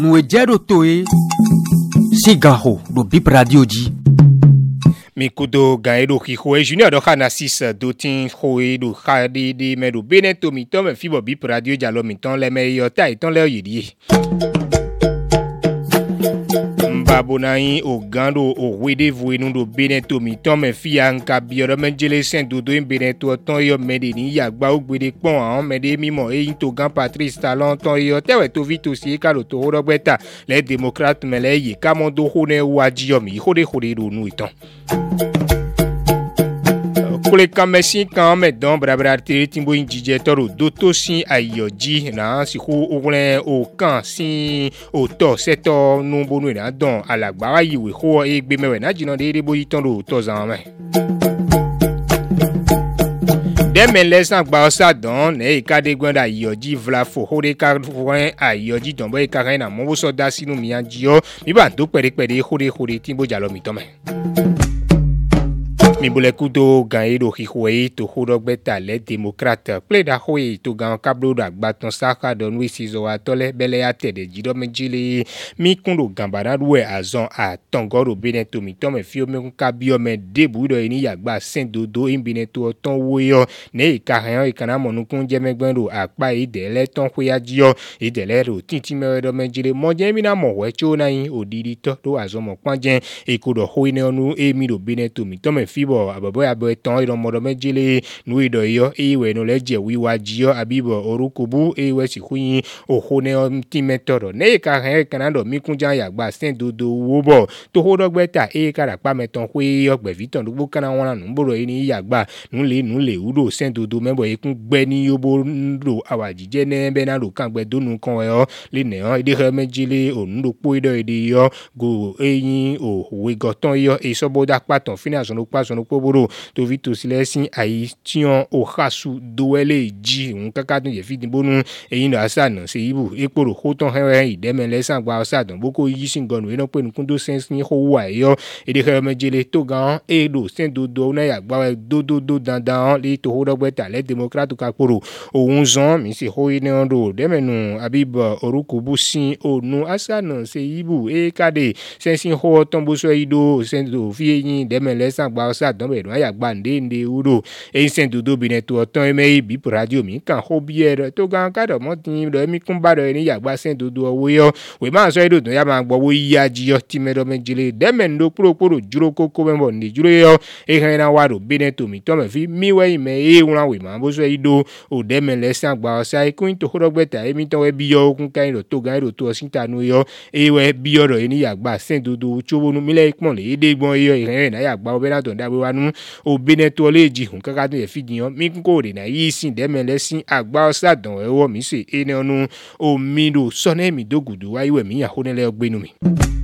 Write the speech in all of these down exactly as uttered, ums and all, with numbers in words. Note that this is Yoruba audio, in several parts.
nous ejero toe sigaho do bip radio di Mikudo gaedo kihoe junior do hanasis do tin hoe do khadi di medo beneto mitom e fibo bip radio jalo miton le meyo ta iton le yidi Mbabonai o gando o wede vuenu do beneto mitom e fia nka bioro menjele sen do do beneto ton yo medeni yagba ogbede pon an mede mimo e into gan Patrice Talon ton yo tewe to vito si ka lo to rogbeta les démocrates mele yi kamondo hone waji yo mi hode hode do nu iton Kule kamesi kame don brabra tiri timbo injije toro doto sin ayoji na si ko ogun o kan sin o to seto nu bonu na don alagba wa yiwe ho egbe mewe na jina de bo yiton do to zan me Deme lesan gba osa don ne ikade gwanda ayoji vla fo hode ka fwen ayoji don bo ikare na mo so da sinu mi anjio mi ba do pere pere hode hode timbo jalo mi to me Mi bole kudo gaedo hihoe to hodogbeta le démocrate pleda hoe to gan kablo da gbaton saka don we sizo atole bele ate de jido menjile mi kundo gambara duwe azon a tongoro beneto mi tome fio me kabio me debu do ni yagba sendodo imbineto ton woyo ne ikahan ikana monu kunje megbendo apa idele ton hoyajio idele ro tinti me do menjile moje mi na mowe cho na yin odidi to do azon mo panje ikodo hoe ne onu emi do beneto mi tome fio ababo abo ton iro modo mejile nu ido yo iwe no leje wiwa jio abibo orukubu iwe sikuyin ohone timetoro ne ka han kanado mikunja yagba sendodo wobo to hodogbeta e kara pa meton hwe ogbe viton dugbo kana wona nu mboro ni yagba nu le nu le udo sendodo mebo ekun gbe ni yobo ndo awajije ne be na ro kan gbe donu kan yo le ne han ide he mejile onudo po ido ide yo go eyin o we goton yo e soboda paton finance no pa no poboro to vito silesin ayi tion o khasu doele ji un kakadun ye fidi bonu eyin da sana se ibu eporo hoton he ideme lesan gba osadon boko yi singonu eno pe nkundo sense ni ho wa yo ede he mejele to gan e do sen do do na ya gba do do do dandan le to hodogbeta le democrate kakoro ohun zon mi se ho ine ondo demenu abib orukubu sin onu asana se ibu e kade sensin ho tombo so ido sen do fi eyin deme lesan gba osadon don be do ya gba nde nde uro e sen dodo bineto oton eme bi radio mi kan ho biere to gan ka do mo tin do mi kun ba do ni ya gba sen dodo owo yo we ma so ido don ya ma gbo wo ya ji yo ti me do mejile deme ndo puro puro juro koko membo ndi juro yo e kan na wa do bineto mi to me fi mi we me e won we ma bo so ido o deme lesan gba osa e kun to hodogbeta e mi to we bi yo kun kan do to gan do to sinta nu yo e we bi yo do ni ya gba sen dodo chowo nu mi le pon le de gbon yo e kan na ya gba obe na to da we nu o beneto leji hun kakadun ye fidiyan mi ko de na yi sin de mele sin agba osadon ewo mi se ene onu o mi do sone mi dogudu wa iwe mi ya honele ogbenu mi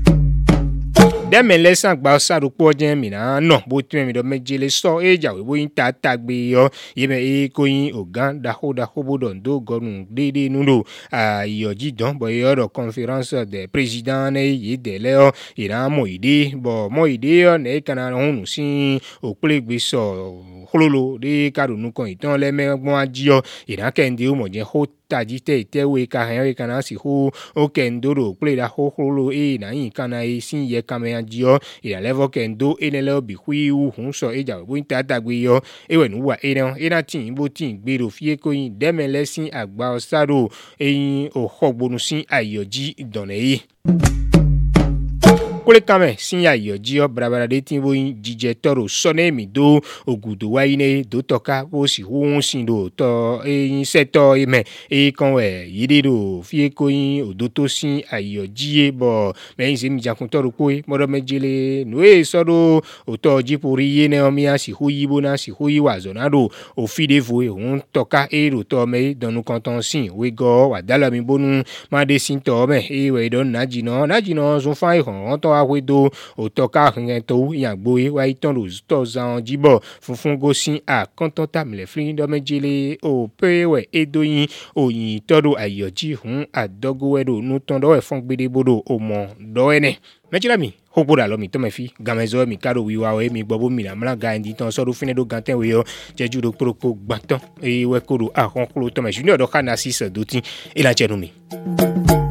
Deme lesan gba osadu po jen mi na no bo tun mi do mejele so eja we bo yin ta tagbe yo yeme e koyin ogan da ho da ho bodon do gorun dede nudo a yoji don bo yo do conference de président ne yi de leo ira mo ide bo mo ide yo ne kana hunu sin oplegbe so hololo de karunu kan itan le megbon ajiyo ira kende o mo je ho taji te te we ka han ka na si ho o kendoro play da ho holo e na yin kana e sin ye ka me anjio e la level kendo e ne le bi hui u hun so e ja bo nta dagbe yo e we nu wa e na e na tin bo tin gbe ro fie ko yin deme lesin agba osaro e yin o hogbonu sin ayoji idone yi Kule kame sinya yoji o brabara de timbo jije toro sone mi do ogudo wa ine do toka o si hun sin do to e seto ime e kan we yide do fie ko yin odoto sin ayoji e bo me yin se mi jakun toro ko e modo mejele no e so do o to jipori ye ne o mi asi hu yibo na si hu yi wa zonado o fide vo e hun toka e ro to me donu kanton sin we go wa dala mi bonu ma de sin to me e we don naji no naji no so fa e hon to awedo otoka rin to yagbo e wa iton lo to zan jibo funfun go sin a kontota mle frin do mejele o pewe edoyin oyin todo ayoji hun adogo wedo nu ton do e fun gbede bodo o mo do ene mejila mi hoboda lo mi to me fi gamezo mi karo wiwa o mi gbobo mi na mla ga ndi ton so do fine do ganten we yo jeju do propo gbantan e we koro a kon klo to me junior do kana six do tin e la chenu mi